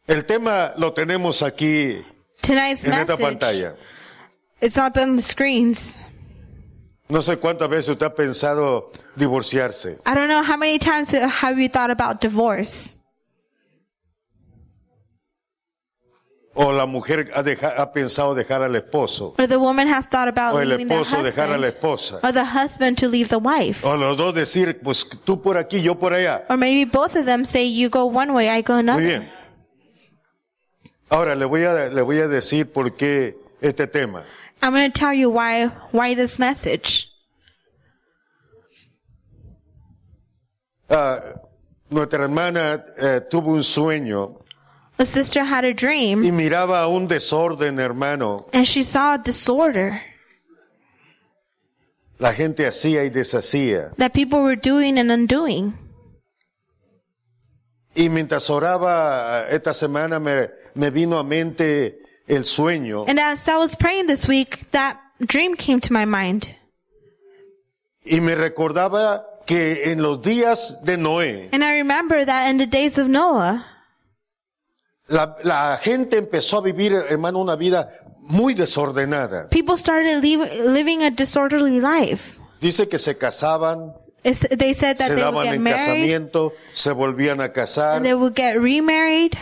El tema lo tenemos aquí Tonight's en esta message, pantalla. it's up on the screens. No sé cuántas veces usted ha pensado divorciarse. I don't know how many times have you thought about divorce? O la mujer ha pensado dejar al esposo. Or the woman has thought about O el leaving their esposo dejar a la husband. esposa. Or the husband to leave the wife. O los dos decir, pues tú por aquí, yo por allá. Or maybe both of them say, you go one way, I go Muy another. bien. Ahora le voy a decir por qué este tema. I'm going to tell you why this message. Nuestra hermana tuvo un sueño A sister had a dream, y miraba un desorden, hermano. and she saw a disorder La gente hacía y deshacía. that people were doing and undoing. Y mientras oraba esta semana me vino a mente el sueño. And as I was praying this week, that dream came to my mind. Y me recordaba que en los días de Noé, And I remember that in the days of Noah, la gente empezó a vivir, hermano, una vida muy desordenada. people started living a disorderly life. Dice que se casaban, They said that se they would daban get en married, casamiento, se volvían a casar. and they would get remarried.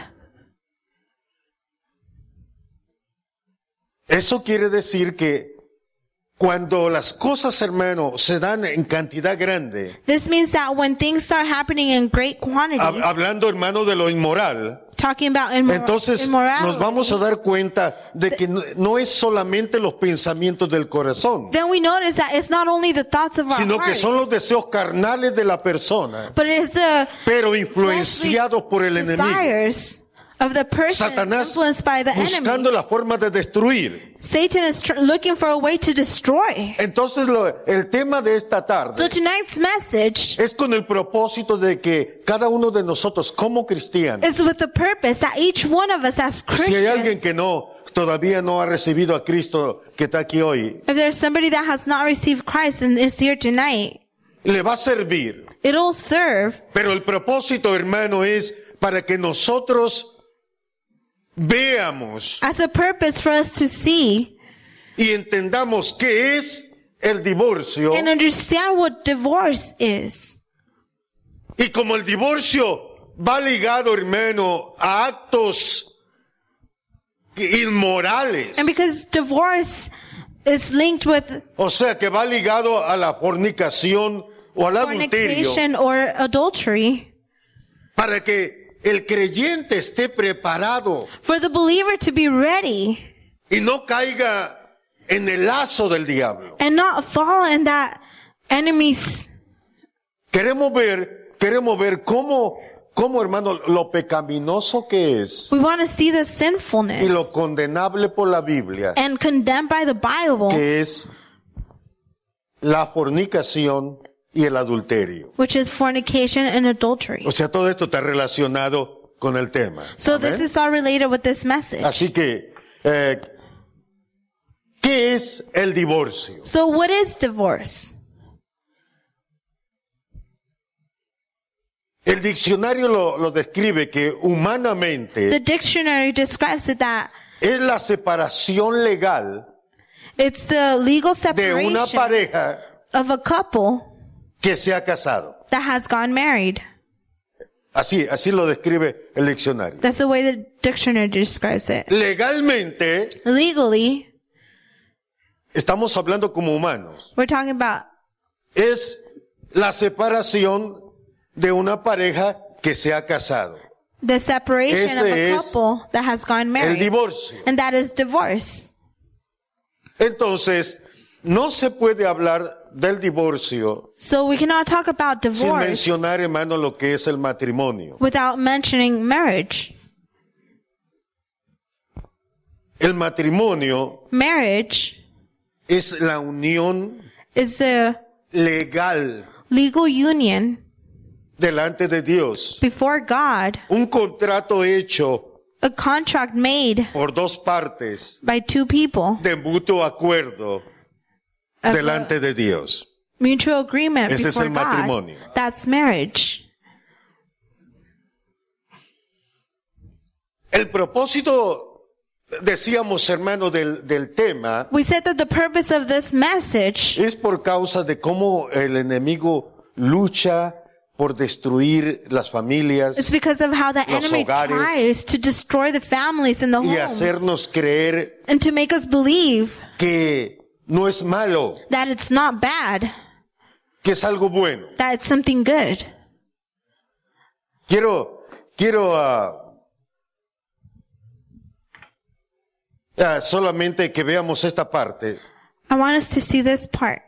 Eso quiere decir que cuando las cosas, hermano, se dan en cantidad grande, This means that when things start happening in great quantities, hablando, hermano, de lo inmoral, talking about entonces immorality, nos vamos a dar cuenta de que no es solamente los pensamientos del corazón, then we notice that it's not only the thoughts of our sino que hearts, son los deseos carnales de la persona, but it is the pero influenciados por el enemigo. desires of the person Satanás influenced by the buscando enemy. la forma de destruir. Satan is looking for a way to destroy. Entonces el tema de esta So tarde tonight's message es con el propósito de que cada uno de nosotros como cristianos, is with the purpose that each one of us as si hay alguien Christians, que todavía no ha recibido a Cristo que está aquí hoy, if there's somebody that has not received Christ and is here tonight, le va a servir. it'll serve. Pero el propósito, hermano, es para que nosotros veamos As a purpose for us to see y entendamos qué es el divorcio. and understand what divorce is. Y como el divorcio va ligado, hermano, a actos inmorales, And because divorce is linked with o sea que va ligado a la fornicación o al adulterio, fornication or adultery, para que el creyente esté preparado for the believer to be ready y no caiga en el lazo del diablo. and not fall in that enemy's. Queremos ver cómo, hermano, lo pecaminoso que es We want to see the y sinfulness lo condenable por la Biblia, and condemned by the Bible, que es la fornicación y el adulterio. which is fornication and adultery. O sea, todo esto está relacionado con el tema. So Amén. this is all related with this message. Así que, ¿qué es el divorcio? So what is divorce? El diccionario lo describe que The humanamente dictionary describes it that es la separación legal it's the legal de una separation pareja of a couple que se ha casado. that has gone married. Así lo describe el diccionario. That's the way the dictionary describes it. Legalmente, Legally, estamos hablando como humanos, we're talking about es la separación de una pareja que se ha casado. the separation of a Ese es couple that has gone El married. divorcio. And that is divorce. Entonces, no se puede hablar del divorcio So we cannot talk about sin divorce mencionar, hermano, lo que es el matrimonio. without mentioning marriage. El matrimonio Marriage es la unión is a legal legal union delante de Dios. before God, Un contrato hecho a contract made por dos partes by two people, de mutuo acuerdo of delante de Dios. mutual agreement Ese es before el God. matrimonio. That's marriage. El propósito, decíamos, hermano, del tema, We said that the purpose of this message es por causa de cómo el enemigo lucha por destruir las familias is because of how the los enemy hogares, tries to destroy the families and the y homes hacernos creer and to make us believe que no es malo, that it's not bad, que es algo bueno. that it's something good. Quiero solamente que veamos esta parte. I want us to see this part.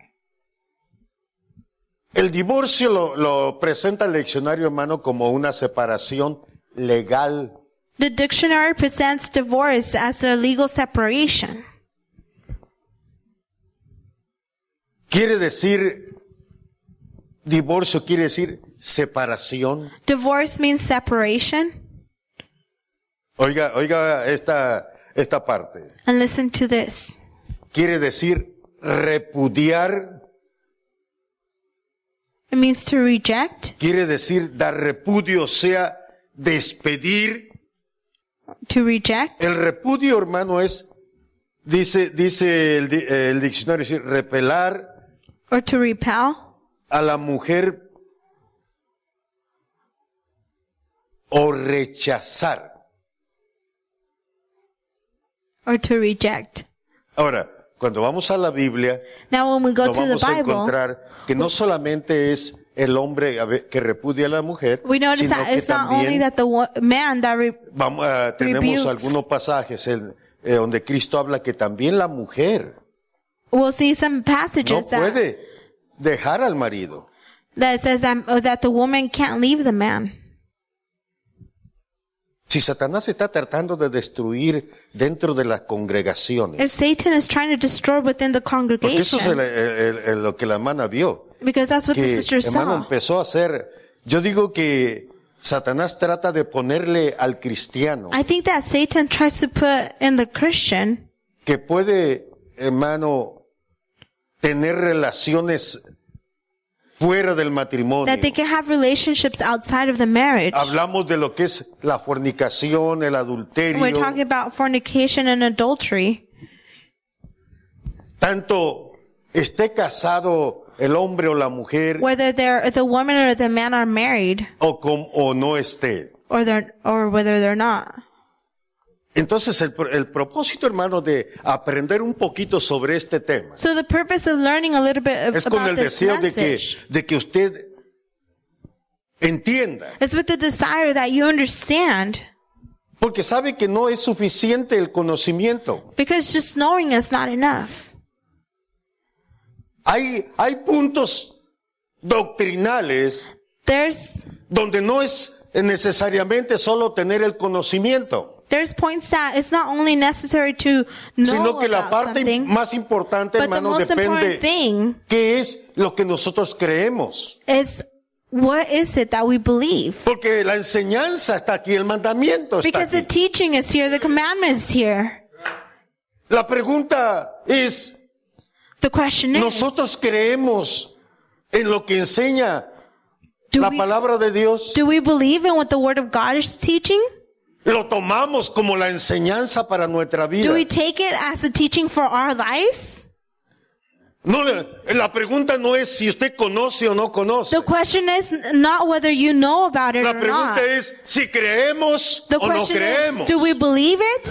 El divorcio lo presenta el diccionario, hermano, como una separación legal. The dictionary presents divorce as a legal separation. Quiere decir, divorcio quiere decir separación. Divorce means separation. Oiga esta parte. And listen to this. Quiere decir repudiar. It means to reject, Quiere decir dar repudio, o sea, despedir. to reject. El repudio, hermano, es, dice el diccionario, es decir, repelar Or to repel. a la mujer o rechazar. Or to reject. Ahora, cuando vamos a la Biblia, Now when we go nos to the vamos a Bible, encontrar que no solamente es el hombre que repudia a la mujer, we notice sino that que it's not only también that the man that tenemos rebukes. algunos pasajes donde Cristo habla que también la mujer we'll see some no passages that puede dejar al marido. says that the woman can't leave the man. Si Satanás está tratando de destruir dentro de las congregaciones, If Satan is trying to destroy within the porque eso es congregation, lo que la hermana vio, because that's what the que sister hermano saw. empezó a hacer. Yo digo que Satanás trata de ponerle al cristiano I think that Satan tries to put in the Christian que puede, hermano, tener relaciones fuera del matrimonio. that they can have relationships outside of the marriage. Hablamos de lo que es la fornicación, el adulterio, We're talking about fornication and adultery. tanto esté casado el hombre o la mujer Whether the woman or the man are married o no esté. or whether they're not. Entonces el propósito, hermano, de aprender un poquito sobre este tema So the purpose of learning a little bit es con about el this deseo message de que usted entienda, is with the desire that you understand, porque sabe que no es suficiente el conocimiento. because just knowing is not enough. Hay puntos doctrinales There's donde no es necesariamente solo tener el conocimiento, points that it's not only necessary to know sino que la about parte something, más importante, but the hermano, most important depende thing qué es lo que nosotros creemos. is what is it that we believe. Porque la enseñanza está aquí, el mandamiento está Because the aquí. teaching is here, the commandment is here. La pregunta es, The question is, ¿nosotros creemos en lo que enseña do la we, palabra de Dios? do we believe in what the Word of God is teaching? ¿Lo tomamos como la enseñanza para nuestra vida? Do we take it as a teaching for our lives? No, la pregunta no es si usted conoce o no conoce. The question is not whether you know about it La or not. pregunta es si creemos The o no question creemos. is, do we believe it?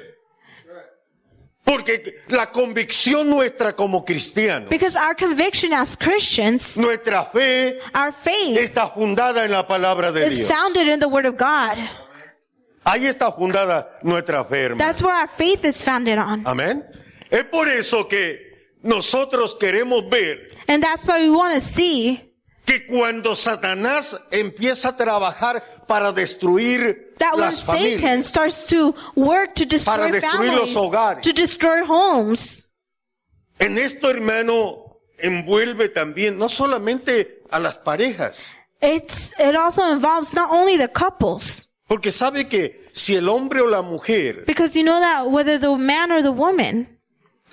Porque la convicción nuestra como cristianos, Because our conviction as Christians, nuestra fe our faith está fundada en la palabra de is Dios. founded in the Word of God. Ahí está fundada nuestra fe, hermano. That's where our faith is founded on. Amén. Es por eso que nosotros queremos ver And that's why we want to see que cuando Satanás empieza a trabajar para destruir that when las familias, Satan starts to work to para destroy destruir los families, hogares, to destroy homes, en esto, hermano, envuelve también no solamente a las parejas, it also involves not only the couples. porque sabe que si el hombre o la mujer Because you know that whether the man or the woman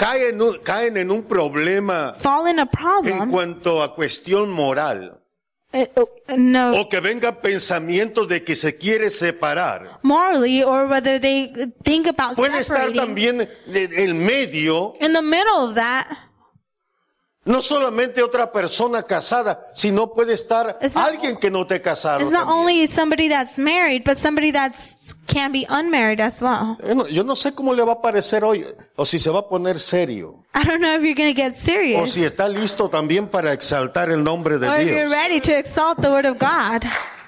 caen en un problema fall in a en problem cuanto a cuestión moral, no, o que vengan pensamientos de que se quiere separar. morally, or whether they think about Puede estar separating. también en medio, In the middle of that, no solamente otra persona casada, sino puede estar It's not- alguien que no esté casado it's not también. only somebody that's married, but somebody that's can be unmarried as well. Yo no sé cómo le va a parecer hoy, o si se va a poner serio, I don't know if you're going to get o serious, si está listo también para exaltar el nombre de or if you're Dios. ready to exalt the word of God.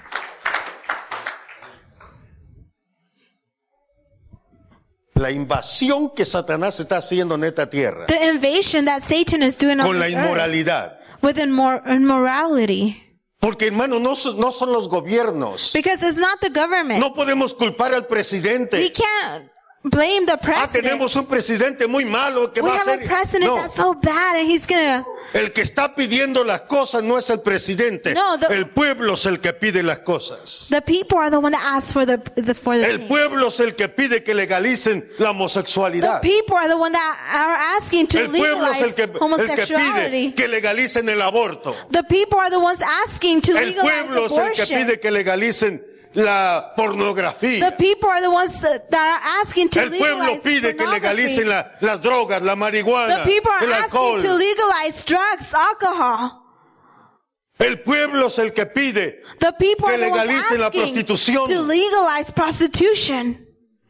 La invasión que Satanás está haciendo en esta tierra, The invasion that Satan is doing on con la this earth inmoralidad. with immorality. Porque hermano, no son los gobiernos. Because it's not the government. No podemos culpar al We presidente. can't blame the president. Tenemos un presidente muy malo que We va a have a ser. president No, that's so bad and he's gonna, el que está pidiendo las cosas no es el presidente. No, El pueblo es el que pide las cosas. the people are the one that ask for the El thing. pueblo es el que pide que legalicen la The homosexualidad. people are the one that are asking to El pueblo es legalize el que pide homosexuality. que legalicen el aborto. The people are the ones asking to El pueblo legalize es el que abortion. pide que legalicen la The pornografía. people are the ones that are asking to El pueblo legalize pide que legalicen pornography. las drogas, la The marihuana, people are el alcohol. asking to legalize drugs, alcohol. El pueblo es el que pide The people que are the ones legalicen la asking prostitución. to legalize prostitution.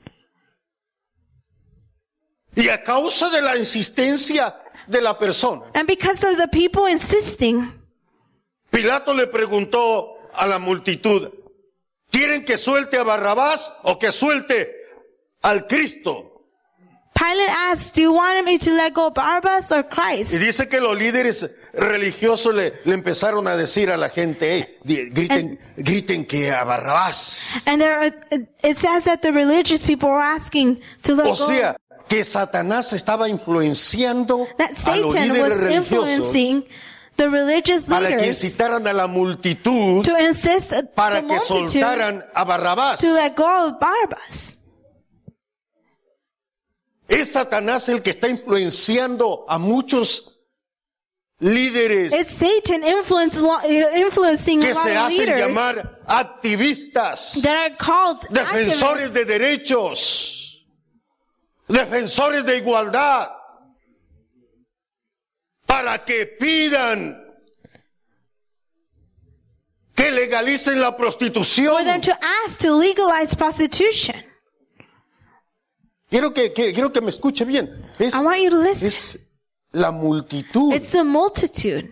Y a causa de la insistencia de la persona, And because of the people insisting, Pilato le preguntó a la multitud, ¿quieren que suelte a Barrabás o que suelte al Cristo? Pilate asked, do you want me to let go of Barabbas or Y Christ? dice que los líderes religiosos le empezaron a decir a la gente, griten que a Barrabás. And it says that the religious people were asking to let O go. sea, que Satanás estaba influenciando That a los Satan líderes was religiosos influencing the religious para que leaders incitaran a la multitud to insist the para que multitude soltaran a Barrabás. to let go of Barabbas. Es Satanás el que está influenciando a muchos líderes It's Satan influencing a que lot se of hacen leaders llamar activistas, that are called defensores activists, de derechos, defensores de igualdad, para que pidan que legalicen la for prostitución. them to ask to legalize prostitution. Quiero que me escuche bien. I want you to listen. Es la multitud. It's the multitude.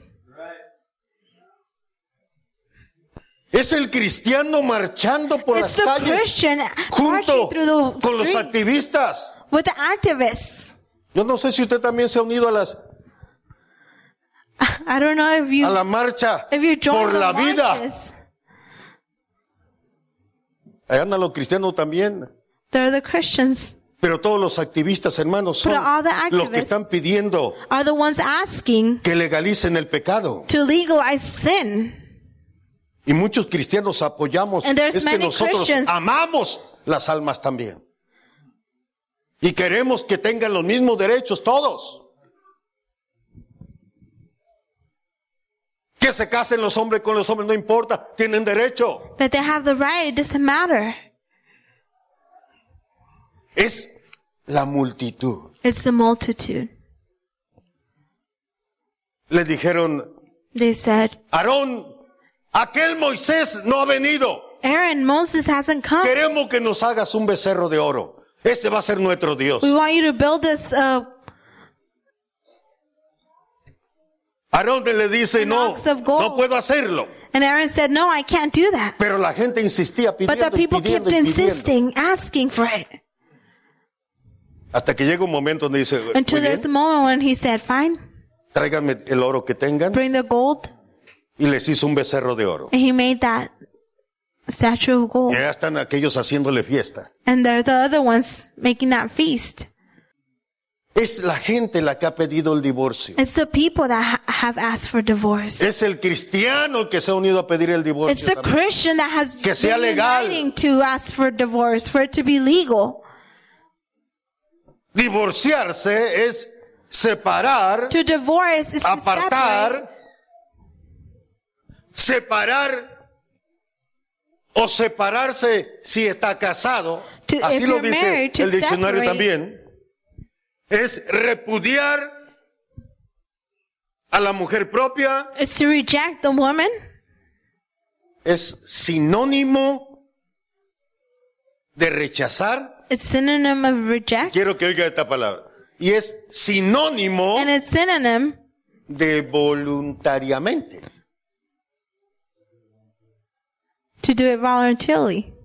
Es el cristiano marchando por It's las the calles Christian junto marching through the con los streets activistas. with the activists. Yo no sé si usted también se ha unido I don't know if you a la marcha join por the la vida. marches. Ahí andan los cristianos también. They're the Christians. Pero todos los activistas, hermanos, son But all the los que activists están pidiendo Are the ones asking que legalicen el pecado. to legalize sin. Y muchos cristianos apoyamos. And there's Es que many nosotros Christians- amamos las almas también. Y queremos que tengan los mismos derechos todos. Que se casen los hombres con los hombres, no importa, tienen derecho. That they have the right, it doesn't matter. Es la multitud. It's the multitude. Le dijeron, They said, Aarón, aquel Moisés no ha venido. Aaron, Moses hasn't come. Queremos que nos hagas un becerro de oro. Ese va a ser nuestro Dios. We want you to build us Aarón le dice, no, An ox of gold. no puedo hacerlo. And Aaron said, no, I can't do that. Pero la gente insistía But pidiendo the y people pidiendo kept y pidiendo. insisting, asking for it. Hasta que llega un momento donde dice, Until muy there's a bien, moment when he said, fine, tráiganme el oro que tengan. bring the gold. Y les hizo un becerro de oro. And he made that statue of Y gold. ya están aquellos haciéndole fiesta. And they're the other ones making that feast. Es la gente la que ha pedido el divorcio. It's the people that have asked for divorce. Es el cristiano el que se ha unido a pedir el It's divorcio. the también. Christian that has Que sea been legal. uniting to ask for divorce, for it to be legal. Divorciarse es separar, To divorce is to separate, apartar separar o separarse si está casado, To- así if lo you're dice married, to el diccionario separate. también, es repudiar a la mujer propia, It's to reject the woman. es sinónimo de rechazar. It's synonym of reject. Quiero que oiga esta palabra. Y es sinónimo And it's synonym de voluntariamente. to do it voluntarily.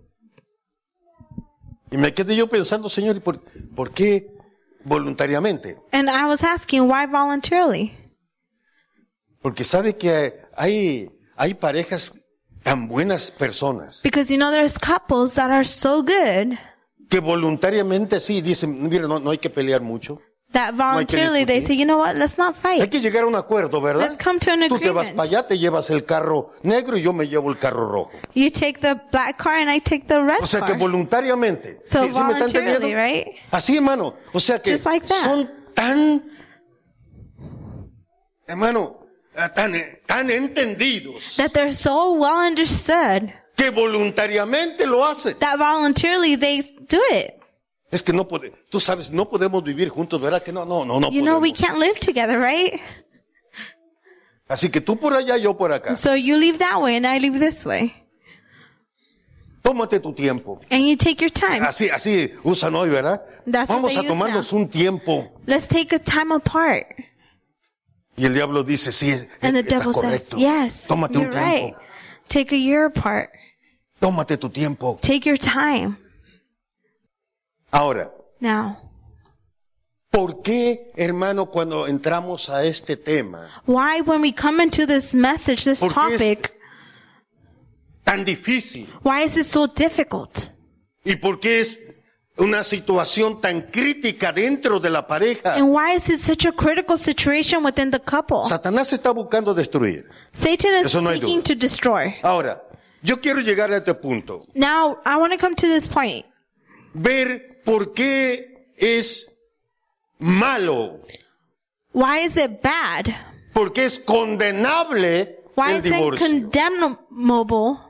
Y me quedé yo pensando, Señor, ¿y por qué voluntariamente? And I was asking, why voluntarily? Porque sabe que hay parejas tan buenas personas Because there's couples that are so good que voluntariamente sí dicen, mira, no hay que pelear mucho. that hay que voluntarily they say, discutir. you know what, let's not Hay fight. que llegar a un acuerdo, ¿verdad? Let's come to an Tú te vas agreement. para allá, te llevas el carro negro y yo me llevo el carro rojo. You take the black car and I take the red O sea que car. voluntariamente. So ¿Sí me están voluntarily, entendiendo? right? Así, hermano. O sea que Just like that. son tan, hermano, tan entendidos That they're so well understood que voluntariamente lo hacen. that voluntarily they do it. Es que tú sabes, no podemos vivir juntos, ¿verdad? Que no You know, we podemos. can't live together, right? Así que tú por allá, yo por acá. So you leave that way and I leave this way. Tómate tu tiempo. And you take your time. Así usan hoy, ¿verdad? That's what Vamos they a use tomarnos un tiempo. Let's take a time apart. Y el diablo dice, sí, And the está devil says, correcto. yes, Tómate un you're right. tiempo. Take a year apart. Tómate tu tiempo. Take your time. Ahora, Now, ¿por qué, hermano, cuando entramos a este tema, why when we come into this message, this ¿Por qué es- topic, tan difícil? why is it so difficult? ¿Y por qué es una situación tan crítica dentro de la pareja? And why is it such a critical situation within the couple? Satanás está buscando destruir. Satan is Eso no hay seeking duda. to destroy. Ahora, yo quiero llegar a este punto. Now, I want to come to this point. Ver por qué es malo, Why is it bad? por qué es condenable Why el is it divorcio. condemnable?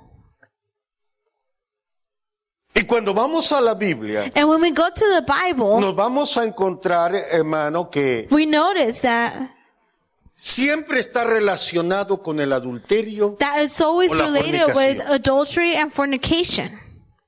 Y cuando vamos a la Biblia, And when we go to the Bible, nos vamos a encontrar, hermano, que we notice that siempre está relacionado con el adulterio. it's always O la related with fornicación. adultery and fornication.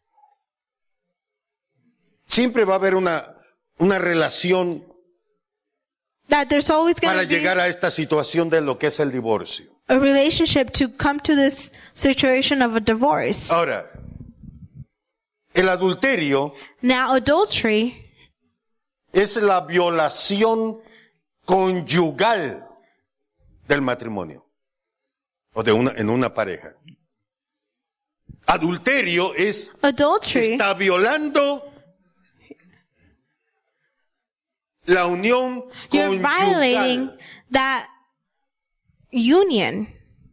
Siempre va a haber una relación That there's always going para to be llegar a esta situación de lo que es el divorcio. a relationship to come to this situation of a divorce. Ahora, el adulterio Now, adultery es la violación conyugal del matrimonio o en una pareja. Adulterio Adultery está violando la unión you're violating conyugal. that union.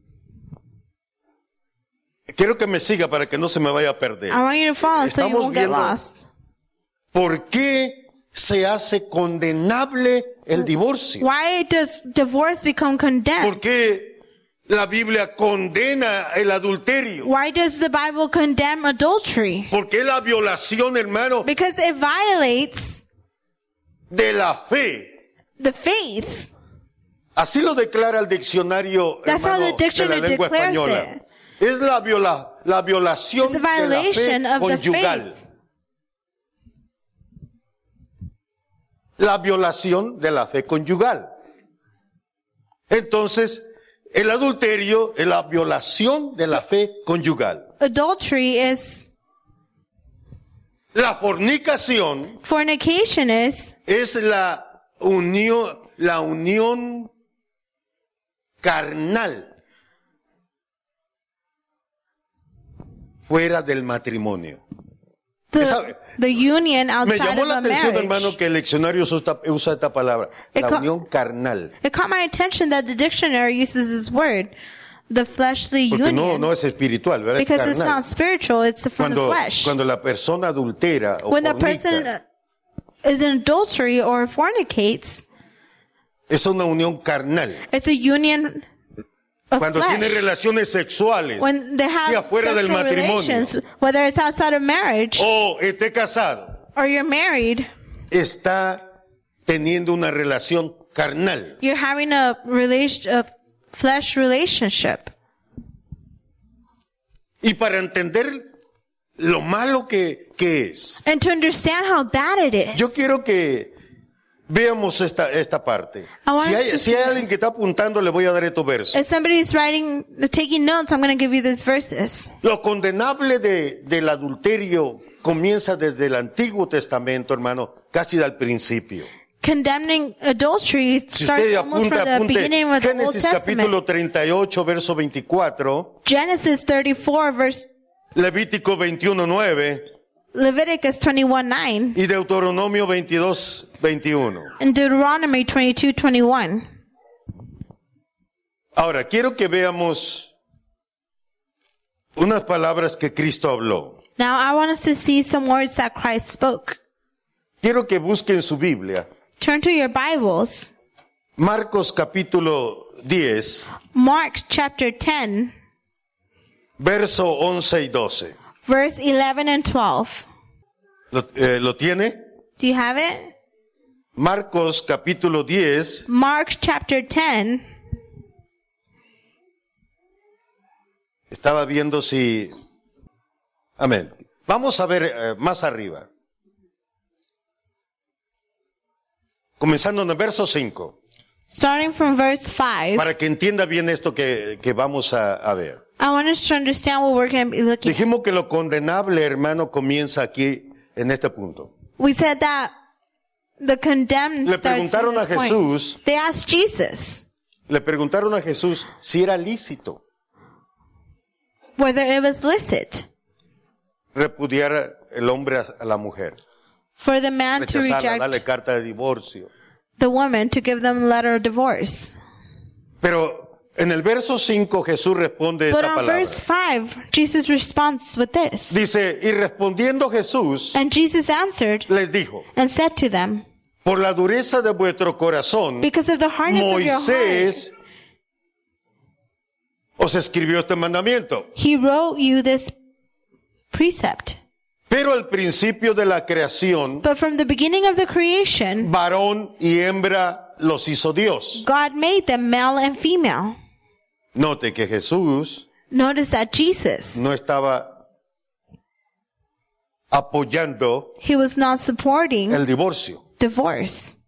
Quiero que me siga para que no se me vaya a perder. I want you to follow so you Estamos won't get viendo- lost. ¿Por qué se hace condenable el divorcio? Why does divorce become condemned? ¿Por qué la Biblia condena el adulterio? Why does the Bible condemn adultery? ¿Por qué la violación, hermano, Because it violates de la fe? the faith. Así lo declara el diccionario, That's how hermano, the de la dictionary lengua declares española. it. Es la violación It's a de la fe violation of the conyugal. faith. La violación de la fe conyugal. Entonces, el adulterio es la violación de la fe conyugal. Adultery is, La fornicación fornication is es la unión carnal fuera del matrimonio. the union Me outside llamó of la a atención, marriage. hermano, que el diccionario usa esta palabra, la unión carnal. It caught my attention that the dictionary uses this word, the fleshly Porque union, no es espiritual, ¿verdad? Es because it's carnal. not spiritual, it's from the flesh. Cuando la persona adultera o When the fornica, person is in adultery or fornicates, es una unión carnal. it's a union of Cuando tiene flesh. relaciones sexuales, When they sea have fuera del sexual matrimonio relations, whether it's outside of marriage o esté casado, or you're married, está teniendo una relación carnal. you're having a flesh relationship. Y para entender lo malo que es, And to understand how bad it is, yo quiero que veamos esta parte. I want Si us hay, to si see hay alguien this. que está apuntando, le voy a dar estos versos. if somebody's taking notes, I'm going to give you these verses. Lo condenable del adulterio comienza desde el Antiguo Testamento, hermano, casi al principio. Condemning adultery Si starts usted almost from the apunte beginning of the Old Génesis Testament. capítulo 38, verso 24, Genesis 34, verse Levítico 21:9 Leviticus 21:9, y Deuteronomio 22:21. and Deuteronomy 22:21. Ahora, quiero que veamos unas palabras que Cristo habló. Now I want us to see some words that Christ spoke. Quiero que busquen su Biblia. Turn to your Bibles. Marcos capítulo 10, Mark chapter 10, verso 11 y 12. verse 11 and 12. ¿Lo tiene? Do you have it? Marcos capítulo 10, Mark chapter 10. estaba viendo si... Amén. Vamos a ver más arriba. Comenzando en el verso 5, Starting from verse 5. para que entienda bien esto que vamos a ver. I want us to understand what we're going to be looking at. Dijimos que lo condenable, hermano, comienza aquí, en este punto. We said that the condemned Le starts preguntaron in a this point. Jesús, They asked Jesus le preguntaron a Jesús si era lícito whether it was licit repudiar el hombre a la mujer, for the man to rechazarla, darle reject carta de divorcio. the woman, to give them a letter of divorce. Pero en el verso 5 Jesús responde But esta on palabra. verse 5, Jesus responds with this. Dice, y respondiendo Jesús, And Jesus answered les dijo, and said to them, por la dureza de vuestro corazón, because of the hardness of your heart, Moisés os escribió este mandamiento. he wrote you this precept. Pero al principio de la creación, But from the beginning of the creation, varón y hembra los hizo Dios. God made them male and female. Note que Jesús Notice that Jesus, no estaba apoyando he was not supporting el divorcio. divorce.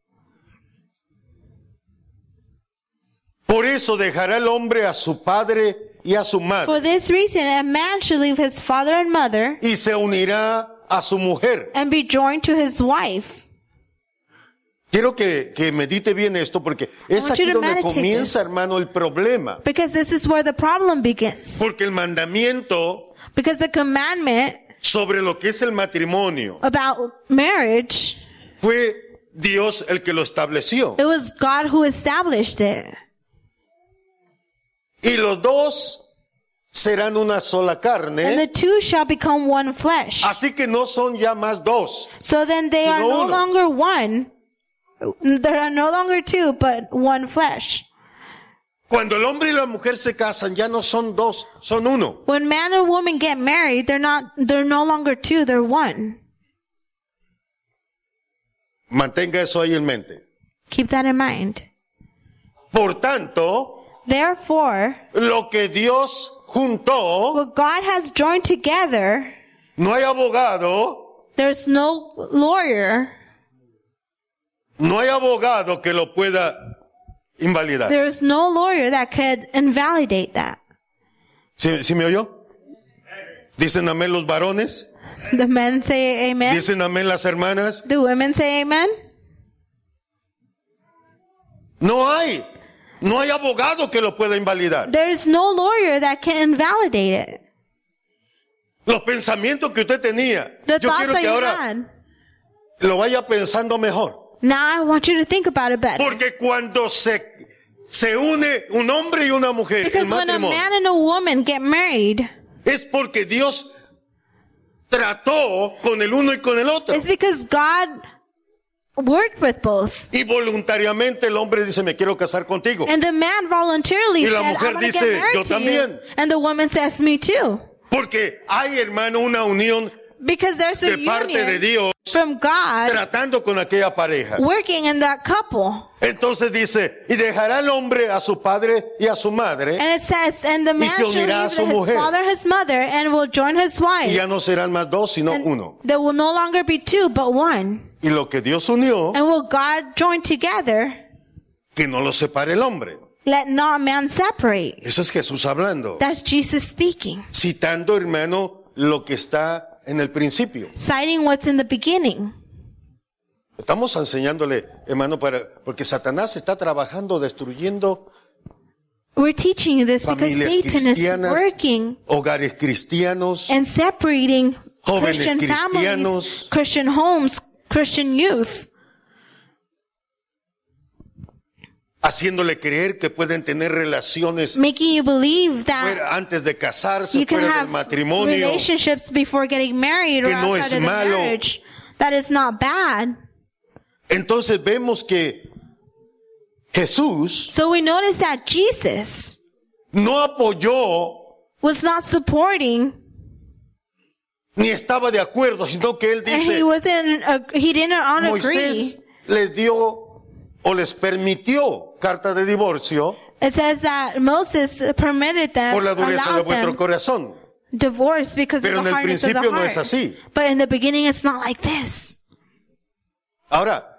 Por eso dejará el hombre a su padre y a su madre For this reason, a man should leave his father and mother y se unirá a su mujer. and be joined to his wife. Quiero que medite bien esto porque es want you aquí to donde meditate comienza, this. hermano, el problema. Because this is where the problem begins. Porque el mandamiento Because the commandment sobre lo que es el matrimonio about marriage, fue Dios el que lo estableció. it was God who established it. Y los dos serán una sola And carne. the two shall become one flesh. Así que no son ya más dos. So then they are Sino no uno. longer one. There are no longer two, but one flesh. Cuando el hombre y la mujer se casan, ya no son dos, son uno. When man and woman get married, they're no longer two, they're one. Mantenga eso ahí en mente. Keep that in mind. Por tanto, Therefore, lo que Dios juntó, what God has joined together, no hay abogado, there's no lawyer, no hay abogado que lo pueda invalidar. there's no lawyer that could invalidate that. ¿Sí me oyó? ¿Dicen amén los varones? The men say amen. ¿Dicen amén las hermanas? The women say amen. No hay abogado que lo pueda invalidar. There's no lawyer that can invalidate it. Los pensamientos que usted tenía, The yo thoughts quiero that que you ahora had. lo vaya pensando mejor. Now I want you to think about it better. Porque cuando se une un hombre y una mujer en Because when a matrimonio, man and a woman get married, es porque Dios trató con el uno y con el otro. it's because God worked with both. Y voluntariamente el hombre dice, me quiero casar contigo. And the man voluntarily Y la said, mujer I want to dice, get married yo to you. también. And the woman says, me too. Porque hay, hermano, una unión Because there's a de parte de union Dios from God tratando con aquella pareja. working in that couple. Entonces dice, y dejará el hombre a su padre y a su madre, And it says, and the man se shall unirá a leave su his mujer. father, his mother, and will join his y wife. ya no serán más dos, sino And uno. there will no longer be two, but one. Y lo que Dios unió, And will God join together, que no lo separe el hombre. let not man separate. Eso es Jesús hablando. That's Jesus speaking. Citando, hermano, lo que está en el principio. Citing what's in the beginning. Estamos enseñándole, hermano, porque Satanás está trabajando, destruyendo We're teaching you this because familias Satan is cristianas, working hogares cristianos, and separating jóvenes Christian families, cristianos, Christian homes, Christian youth, haciéndole creer que pueden tener relaciones making you believe that antes de casarse, you can fuera del have matrimonio, relationships before getting married or que no outside es of the malo. marriage. That is not bad. Entonces vemos que Jesús So we notice that Jesus no apoyó was not supporting, ni estaba de acuerdo, sino que él and dice, he didn't agree. Moisés les dio o les permitió carta de divorcio It says that Moses permitted them, por la dureza de allowed vuestro them corazón. divorce because Pero of en the el hardness of the principio no heart. es así. But in the beginning, it's not like this. Ahora,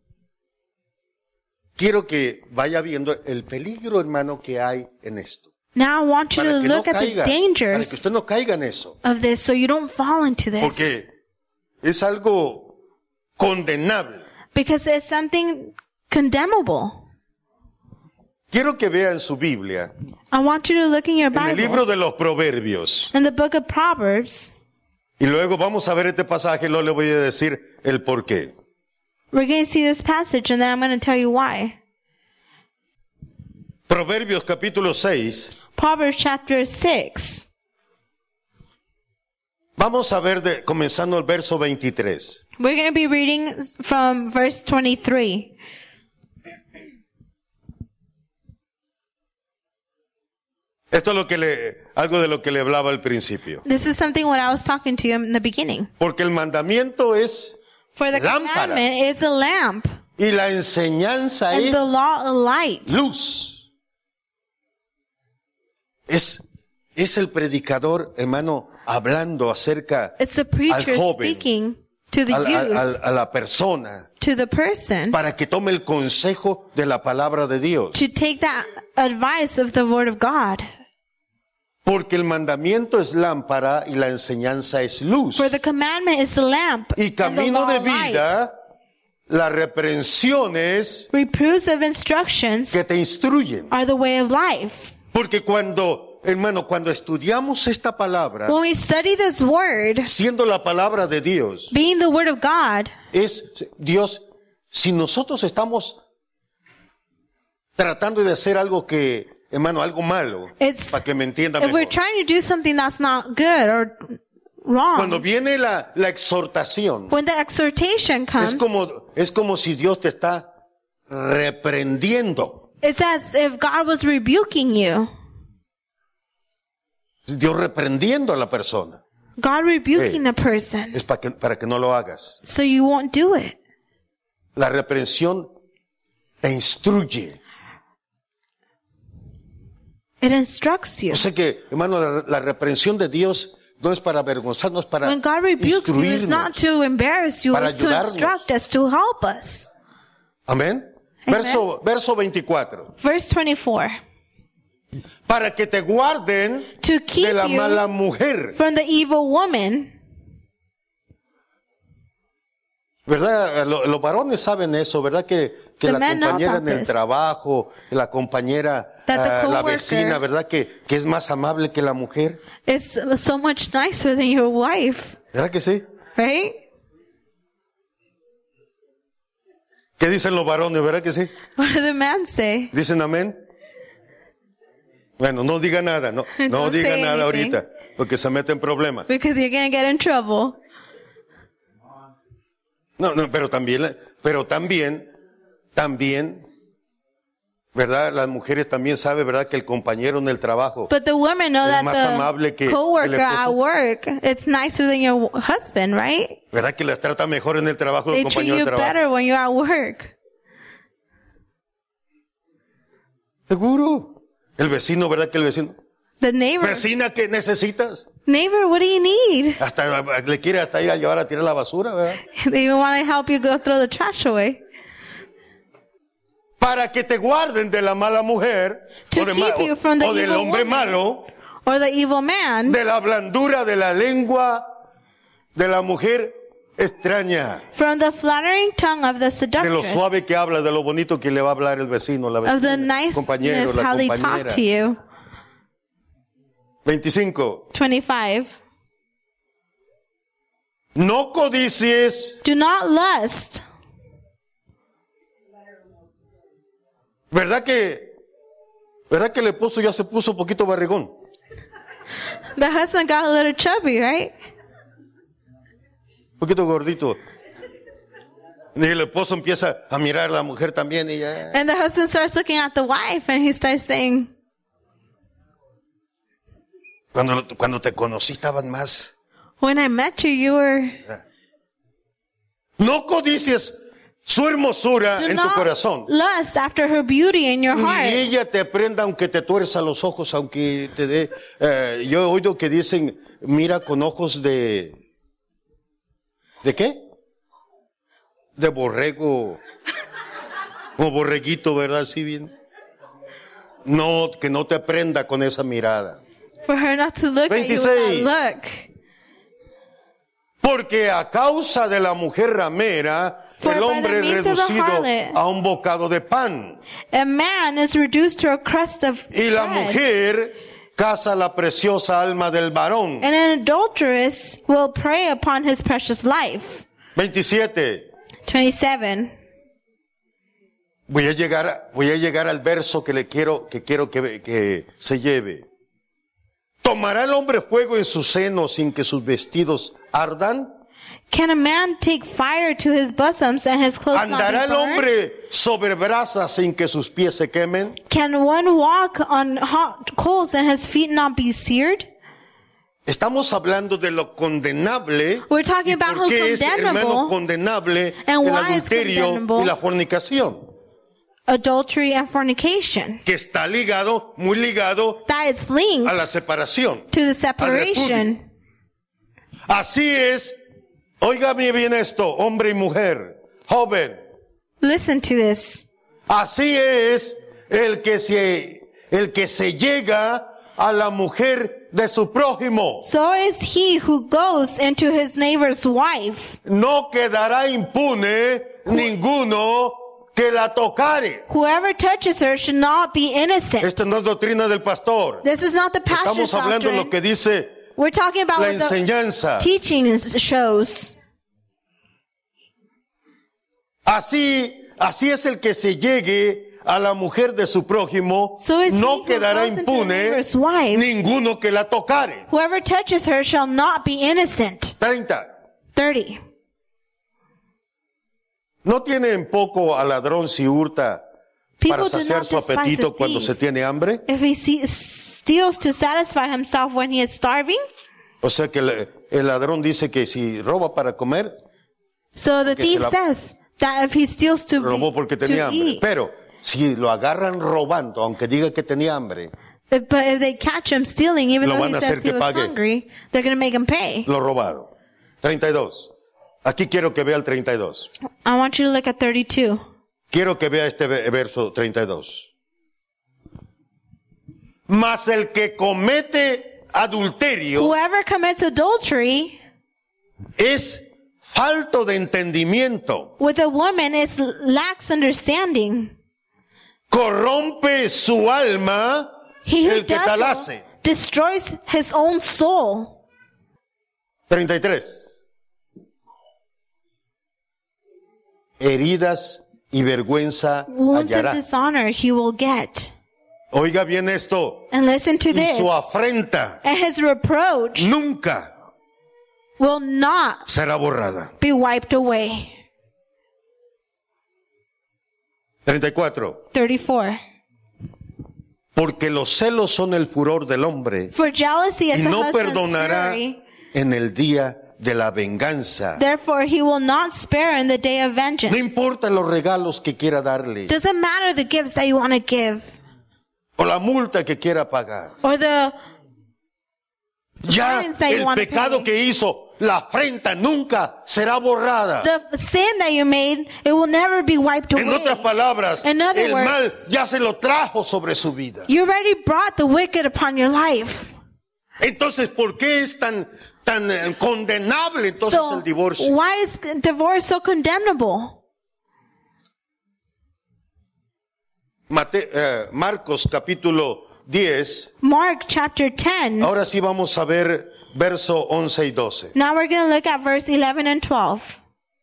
quiero que vaya viendo el peligro, hermano, que hay en esto. Now I want you Para to que no look at the caiga, para que dangers usted no caiga en eso. of this so you don't fall into this. Porque es algo condenable. Because it's something condemnable. Quiero que vea en su Biblia, I want you to look in your en el libro Bible, de los Proverbios. in the book of Proverbs. Y luego vamos a ver este pasaje y luego le voy a decir el por qué. We're going to see this passage and then I'm going to tell you why. Proverbios capítulo 6. Proverbs chapter 6. Vamos a ver comenzando el verso 23. We're going to be reading from verse 23. Esto es algo de lo que le hablaba al principio. This is something what I was talking to you in the beginning. Porque el mandamiento es For the lámpara commandment is a lamp, y la enseñanza and es the law a light. luz. Es el predicador, hermano, hablando acerca It's the preacher al joven, speaking to the youth, a la persona, to the person, para que tome el consejo de la palabra de Dios. to take that advice of the word of God. Porque el mandamiento es lámpara y la enseñanza es luz. For the commandment is a lamp, Y and the camino law de a light. vida, las reprensiones Reproofs of instructions que te instruyen. are the way of life. Porque cuando estudiamos esta palabra, When we study this word, siendo la palabra de Dios, being the word of God, es Dios, si nosotros estamos tratando de hacer algo que, hermano, algo malo, It's- para que me entienda if we're mejor. trying to do something that's not good or Cuando wrong, viene la exhortación, when the exhortation comes, es como si Dios te está reprendiendo. it's as if God was rebuking you. Dios reprendiendo a la persona. God rebuking Hey. the person, Es para que no lo hagas. so you won't do it. La reprensión te instruye. It instructs you. Yo sé que, hermano, la reprensión de Dios no es para avergonzarnos, para When God rebukes you, it's not instruirnos. to embarrass you, Para it's to ayudarnos. instruct us, to help us. Amén. Amen. Verso 24. Verse 24. Para que te guarden To keep de la you mala mujer. from the evil woman. ¿Verdad? Los varones saben eso, ¿verdad? Que The la men know compañera about en el this. trabajo, la compañera, That the la coworker- vecina, ¿verdad? Que es más amable que la mujer. It's so much nicer than your wife, ¿Verdad que sí? right? ¿Qué dicen los varones? ¿Verdad que sí? What do the men say? ¿Dicen amén? Bueno, no diga nada, no Don't diga say nada anything. ahorita, porque se mete en problemas. Because you're going to get in trouble. No, pero también, ¿verdad? Las mujeres también saben, ¿verdad? Que el compañero en el trabajo But the women know es that más amable que the el coworker at esposo. work, it's nicer than your husband, right? ¿Verdad que las trata mejor en el trabajo el They treat compañero de you trabajo? better when you're at work. Seguro. El vecino, ¿verdad que el vecino? The neighbor, Vecina, ¿qué necesitas? neighbor, what do you need? Hasta le quiere hasta ir a llevar a tirar la basura, ¿verdad? They even want to help you go throw the trash away. Para que te guarden de la mala mujer To keep you from the o del evil hombre woman. malo, Or the evil man, de la blandura de la lengua de la mujer extraña, from the flattering tongue of the de lo seductress, suave que habla, de lo bonito que le va a hablar el vecino, la of the vecina, el compañero, niceness, la how they talk compañera. to you. 25. 25. No codicies, Do not lust. ¿verdad que el esposo ya se puso un poquito barrigón? The husband got a little chubby, right? Un poquito gordito. Y el esposo empieza a mirar a la mujer también y ya. And the husband starts looking at the wife and he starts saying, Cuando te conocí estaban más. when I met you, you were... No codicies su hermosura Do en tu not corazón. lust after her beauty in your Y heart. ella te aprenda aunque te tuerza los ojos, aunque te dé... yo he oído que dicen, mira con ojos de... ¿De qué? De borrego. O borreguito, ¿verdad? Así bien. No, que no te aprenda con esa mirada. For her not to look at you with 26. that look. Porque a causa de la mujer ramera, For el by hombre the es means of the reducido harlot, a un bocado de pan. A man is reduced to a crust of Y la bread. mujer caza la preciosa alma del varón. And an adulteress will prey upon his precious life. 27. 27. Voy a llegar al verso que quiero que se lleve. ¿Tomará el hombre fuego en su seno sin que sus vestidos ardan? Can a man take fire to his bosoms and his clothes not ¿Andará be el burned? hombre sobre brasas sin que sus pies se quemen? Can one walk on hot coals and his feet not be seared? Estamos hablando de lo condenable. We're talking ¿Y about por qué who's es, hermano, condemnable condenable and el why it's adulterio condemnable. y la fornicación? Adultery and fornication. Que está ligado, muy ligado That it's linked a la separación. to the separation. Así es, óigame bien esto, hombre y mujer, joven. Listen to this. Así es el que se llega a la mujer de su prójimo. So is he who goes into his neighbor's wife. No quedará impune ninguno que la tocare. Whoever touches her should not be innocent. Esta no es doctrina del pastor. This is not the pastor's Estamos hablando de lo doctrine. que dice We're talking about la what the enseñanza. teaching shows. Así es el que se llegue a la mujer de su prójimo, So is he no who quedará goes into the impune neighbor's wife. ninguno que la tocare. Whoever touches her shall not be innocent. 30. 30. No tiene en poco al ladrón si hurta para People do saciar not su despise apetito a cuando se thief tiene hambre. if he steals to satisfy himself when he is starving. O sea que el ladrón dice que si roba para comer, So the Que se thief la- says that if he steals to robó porque tenía hambre. eat, Pero si lo agarran robando, aunque diga que tenía hambre, but if they catch him stealing, even Lo though van he a says hacer he que was pague. hungry, they're going to make him pay. lo robado. 32. Aquí quiero que vea el 32. I want you to look at 32. Quiero que vea este verso 32. Mas el que comete adulterio Whoever commits adultery es falto de entendimiento, with a woman lacks understanding. corrompe su alma He who el que tal does so hace. destroys his own soul. 33. Heridas y vergüenza Wounds of hallará. dishonor he will get. Oiga bien esto. And listen to Y this. su afrenta And his reproach nunca will not será borrada. be wiped away. 34. 34. Porque los celos son el furor del hombre For jealousy is y a no husband's perdonará fury. en el día de la venganza. Therefore he will not spare in the day of No vengeance. importa los regalos que quiera darle Doesn't matter the gifts that you want to give o la multa que quiera pagar. or the Ya fines that you el want to pecado pay. que hizo, la afrenta nunca será borrada. The sin that you made, it will never be wiped En away. otras palabras, In other el mal words, ya se lo trajo sobre su vida. You already brought the wicked upon your life. Entonces, ¿por qué es tan condenable entonces So el divorcio? why is divorce so condemnable? Marcos capítulo 10. Mark chapter 10. Ahora sí vamos a ver verso 11 y 12. Now we're going to look at verse 11 and 12.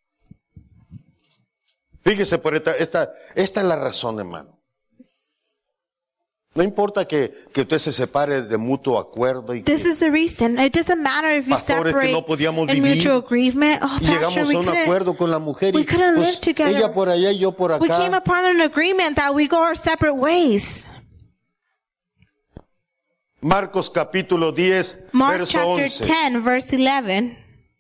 Fíjese por esta es la razón, hermano. No importa que usted se separe de mutuo acuerdo y This is the reason. It doesn't matter if you Pastores, que separate no podíamos in vivir. mutual agreement. Oh, y pastor, llegamos a un acuerdo con la mujer we y couldn't pues, live together. ella por allá y yo por We came acá. upon an agreement that we go our separate ways. Marcos capítulo 10, Mark verso chapter 11. 10, verse 11.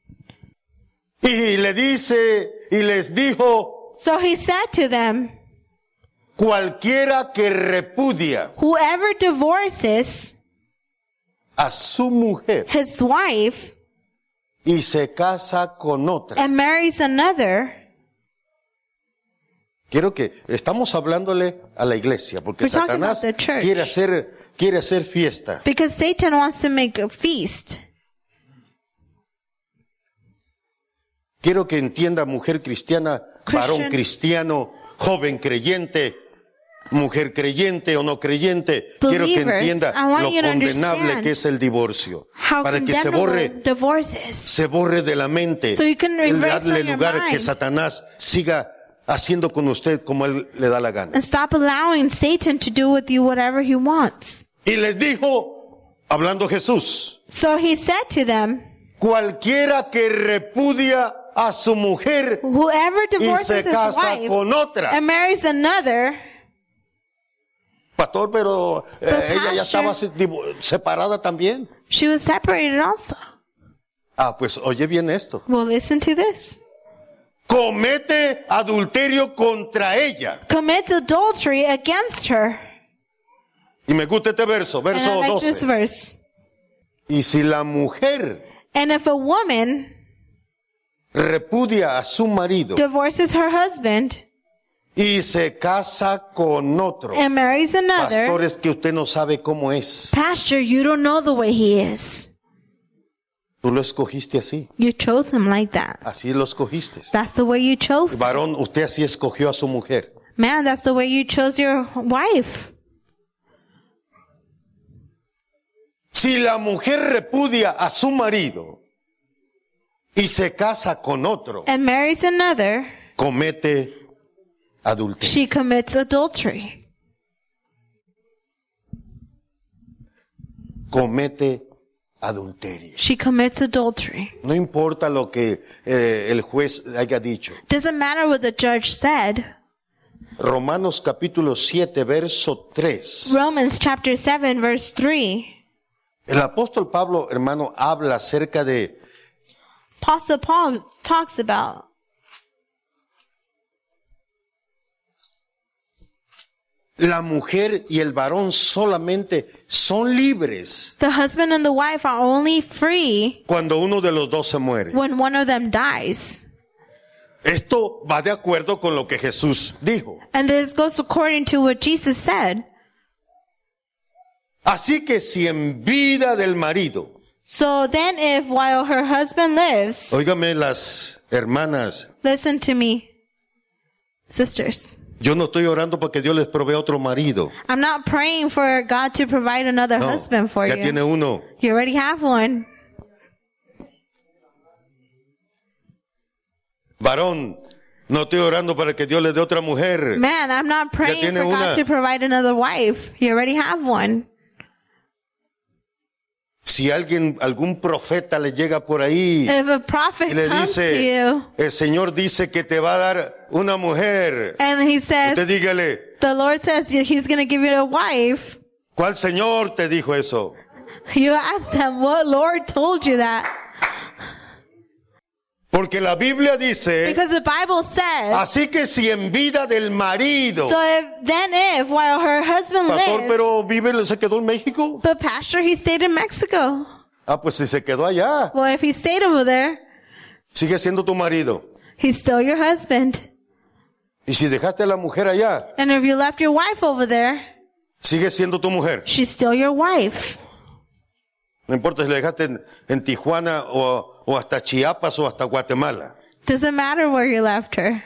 Y le dice y les dijo, So he said to them, cualquiera que repudia whoever divorces a su mujer his wife y se casa con otra. and marries another. Quiero que estamos hablándole a la iglesia porque We're talking Satanás about the church. quiere hacer fiesta. Because Satan wants to make a feast. Quiero que entienda mujer cristiana, varón Christian. cristiano, joven creyente, mujer creyente o no creyente. Quiero que Believers, entienda I want lo you to condenable understand que es el divorcio. How Para que se condemnable divorces. se borre de la mente. So you can el erase darle from your lugar que mind. Satanás siga haciendo con usted como él le da la gana. And stop allowing Satan to do with you whatever he wants. Y les dijo, hablando Jesús, So he said to them, cualquiera que repudia a su mujer whoever y divorces se his casa wife con otra. and marries another, Pastor, pero ella ya pastor- estaba separada también. she was separated also. Ah, pues oye bien esto. Well, listen to this. Comete adulterio contra ella. Commits adultery against her. Y me gusta este verso, And verso I like this 12. verse. Y si la mujer And if a woman repudia a su marido divorces her husband y se casa con otro, and marries another, pastor, es que usted no sabe cómo es. Pastor, you don't know the way he is. Tú lo escogiste así. You chose him like that. Así lo escogiste. That's the way you chose him. Varón, usted así escogió a su mujer. Man, that's the way you chose your wife. Si la mujer repudia a su marido y se casa con otro, And marries another, comete adulterio. she commits adultery. Comete adulterio. She commits adultery. No importa lo que el juez haya dicho. Doesn't matter what the judge said. Romanos capítulo 7, verso 3. Romans chapter 7 verse 3. El apóstol Pablo, hermano, habla acerca de Apostle Paul talks about la mujer y el varón solamente son libres the husband and the wife are only free cuando uno de los dos se muere. when one of them dies. Esto va de acuerdo con lo que Jesús dijo. And this goes according to what Jesus said. Así que si en vida del marido, So then if while her husband lives, óigame las hermanas, listen to me, sisters. yo no estoy orando para que Dios les provea otro marido. I'm not praying for God to provide another No, husband for ya you. tiene uno. You already have one. Varón, no estoy orando para que Dios le dé otra mujer. Man, I'm not praying tiene for una. God to provide another wife. You already have one. Si algún profeta le llega por ahí If a prophet y le comes to dice, you el Señor dice que te va a dar una mujer, and he says, usted dígale, the Lord says he's going to give you a wife, ¿cuál Señor te dijo eso? you ask them, what Lord told you that? Porque la Biblia dice, Because the Bible says, así que si en vida del marido, so if while her husband pastor, lives, pero se quedó en México. but pastor, he stayed in Mexico. Ah, pues si se quedó allá, Well, if he stayed over there, sigue siendo tu marido. he's still your husband. Y si dejaste a la mujer allá, And if you left your wife over there, sigue siendo tu mujer. she's still your wife. No importa si la dejaste en Tijuana o hasta Chiapas o hasta Guatemala. Doesn't matter where you left her.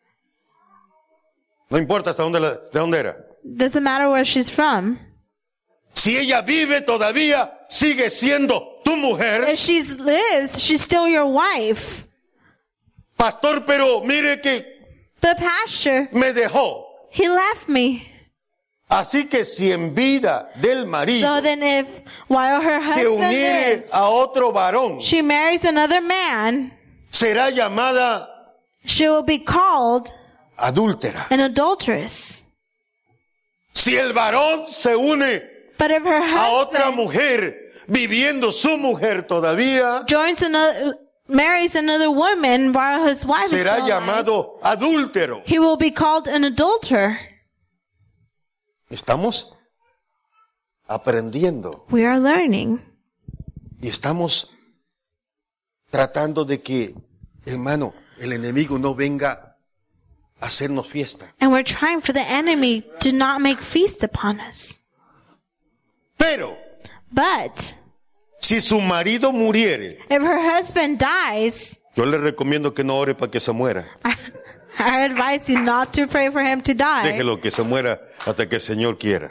No importa hasta de dónde era. Doesn't matter where she's from. Si ella vive todavía, sigue siendo tu mujer. If she lives, she's still your wife. Pastor, pero mire que But pastor, me dejó. he left me. Así que si en vida del marido So then if while her se husband uniere lives, a otro varón, she marries another man, será llamada she will be called adúltera. an adulteress. Si el varón se une But if her a otra husband mujer, viviendo su mujer todavía, marries another woman while his wife is será still alive, llamado adúltero. he will be called an adulterer. Estamos aprendiendo We are learning. y estamos tratando de que, hermano, el enemigo no venga a hacernos fiesta. And we're trying for the enemy to not make feast upon us. Pero But si su marido muriere, if her husband dies, yo le recomiendo que no ore para que se muera. I advise you not to pray for him to die. Déjelo que se muera hasta que el Señor quiera.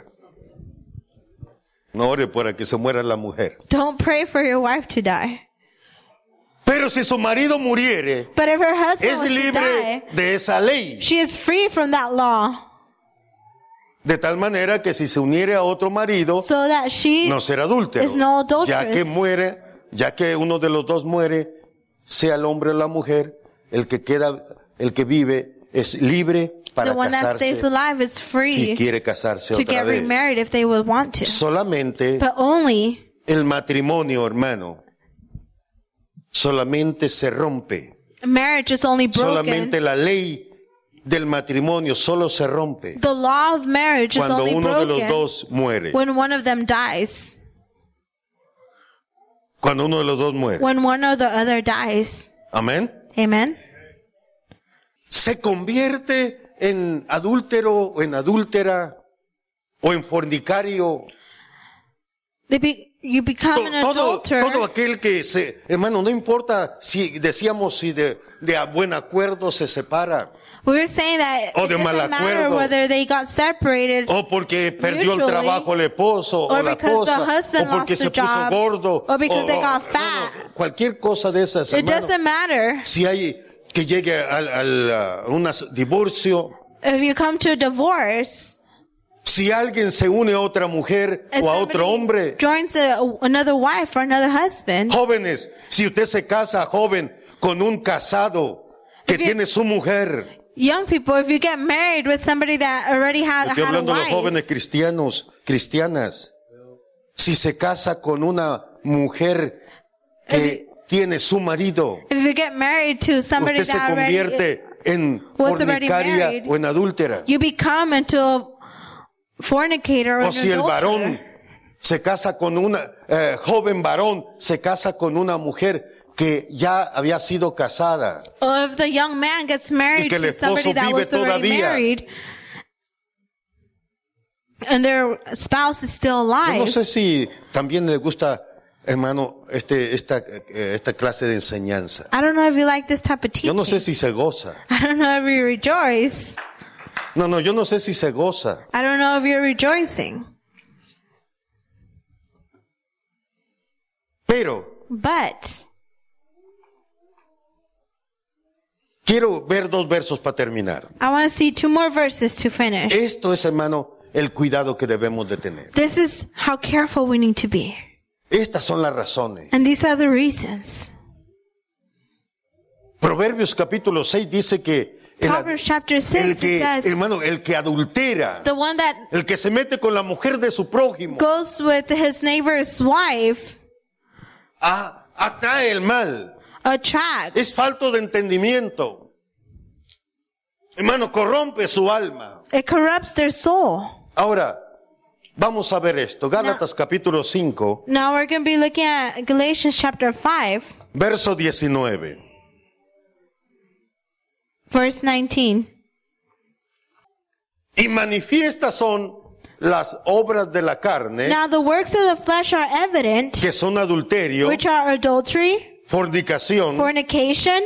No ore para que se muera la mujer. Don't pray for your wife to die. Pero si su marido muriere, But if her husband es was to libre die, de esa ley. she is free from that law. De tal manera que si se uniere a otro marido, So that she no será adúltero. is no adulteress. Ya que uno de los dos muere, sea el hombre o la mujer, el que vive es libre para the one that stays casarse alive is free si quiere casarse to otra get vez. remarried if they would want to. Solamente But only el matrimonio, hermano, solamente se rompe. marriage is only broken. Solamente la ley del matrimonio solo se rompe The law of marriage is cuando only uno de los broken dos muere. when one of them dies. Cuando uno de los dos muere. When one or the other dies. Amén. Amen. Se convierte en adúltero o en adúltera o en fornicario. You become an adulterer. Todo aquel que hermano, no importa si decíamos si de buen acuerdo se separa We were saying that O it de mal doesn't matter acuerdo. whether they got separated o porque perdió el mutually, trabajo el esposo o or la because the esposa o husband porque lost se the puso job, gordo or because they got no, fat. cualquier cosa de esas, It hermano. doesn't matter. Si hay que llegue a un divorcio, If you come to a divorce, si alguien se une a otra mujer if o a somebody otro hombre, joins another wife or another husband, jóvenes, si usted se casa joven con un casado que If you- tiene su mujer, young people, if you get married with somebody that already had estoy a hablando de los wife, jóvenes cristianas, si se casa con una mujer que tiene su marido, if you get married to somebody usted se that already, convierte en was already fornicaria married, o en adúltera. you become into a fornicator or O an si el varón adulterer. se casa con una joven varón, se casa con una mujer que ya había sido casada. Or if the young man gets married que el to esposo somebody that vive was already todavía. married, and their spouse is still Yo no alive. sé si también le gusta, hermano, esta clase de enseñanza. I don't know if you like this type of Yo teaching. no sé si se goza. I don't know if you rejoice. No, yo no sé si se goza. I don't know if you're rejoicing. Pero But quiero ver dos versos para terminar. I want to see 2 more verses to finish. Esto es, hermano, el cuidado que debemos de tener. This is how careful we need to be. Estas son las razones. And these are the reasons. Proverbios capítulo 6 dice que Proverbs chapter 6, el it que, says, hermano, el que adultera, the one that el que se mete con la mujer de su prójimo, goes with his neighbor's wife atrae el mal. attracts. Es falto de entendimiento. Hermano, corrompe su alma. It corrupts their soul. Ahora, vamos a ver esto. Gálatas capítulo 5, Now we're going to be looking at Galatians chapter 5, verso 19. verse 19. Y manifiestas son las obras de la carne, Now the works of the flesh are evident, que son adulterio, which are adultery, fornicación, fornication,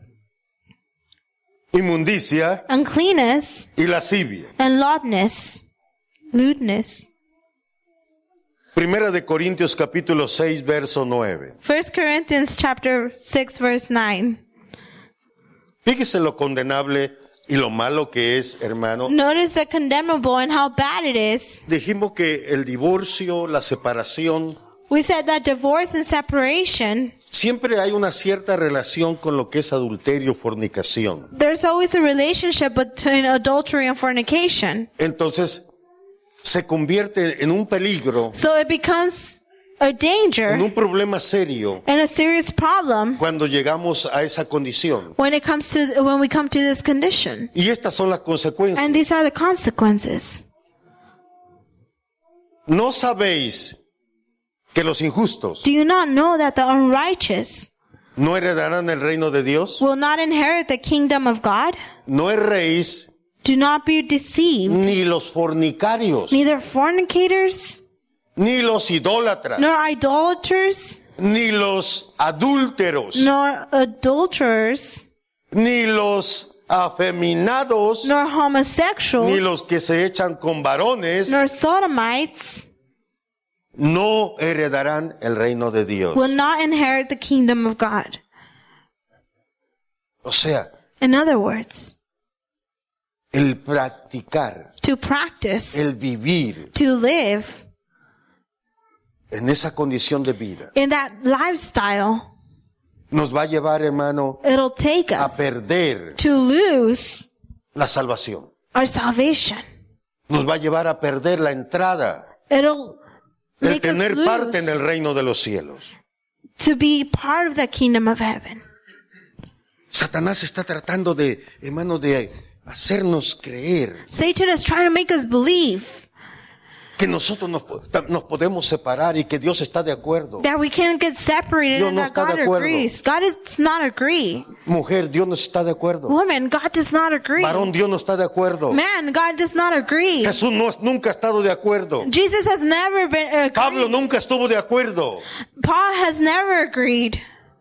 inmundicia uncleanness, y lascivia. and lewdness. Primera de Corintios capítulo 6, verso 9. 1 Corinthians chapter 6, verse 9. Fíjese lo condenable y lo malo que es, hermano. Notice the condemnable and how bad it is. Dijimos que el divorcio, la separación, We said that divorce and separation, siempre hay una cierta relación con lo que es adulterio, fornicación. there's always a relationship between adultery and fornication. Entonces, se convierte en un peligro, So it becomes a en danger un problema serio and a serious problem cuando llegamos a esa condición. when we come to this condition. Y estas son las consecuencias. And these are the consequences. ¿No sabéis que los injustos Do you not know that the unrighteous no heredarán el reino de Dios? will not inherit the kingdom of God? No erréis, Do not be deceived. ni los fornicarios, Neither fornicators, ni los idólatras, nor idolaters, ni los adúlteros, nor adulterers, ni los afeminados, nor ni homosexuals, los que se echan con varones, nor sodomites no heredarán el reino de Dios. will not inherit the kingdom of God. O sea, In other words, el practicar, to practice, el vivir to live en esa condición de vida, in that lifestyle, nos va a llevar, hermano, it'll take a us perder to lose la salvación. our salvation. Nos va a llevar a perder la entrada, It'll el make us tener parte en lose el reino de los cielos. to be part of the kingdom of heaven. Satanás está tratando de, hermano, de hacernos creer Satan is trying to make us believe que nosotros nos podemos separar y que Dios está de acuerdo. that we can't get separated Dios and no that está de God acuerdo. agrees. God does not agree. Mujer, Dios no está de acuerdo. Woman, God does not agree. Varón, Dios no está de acuerdo. Man, God does not agree. Jesús nunca ha estado de acuerdo. Jesus has never been Pablo agreed. nunca estuvo de acuerdo. Paul has never agreed.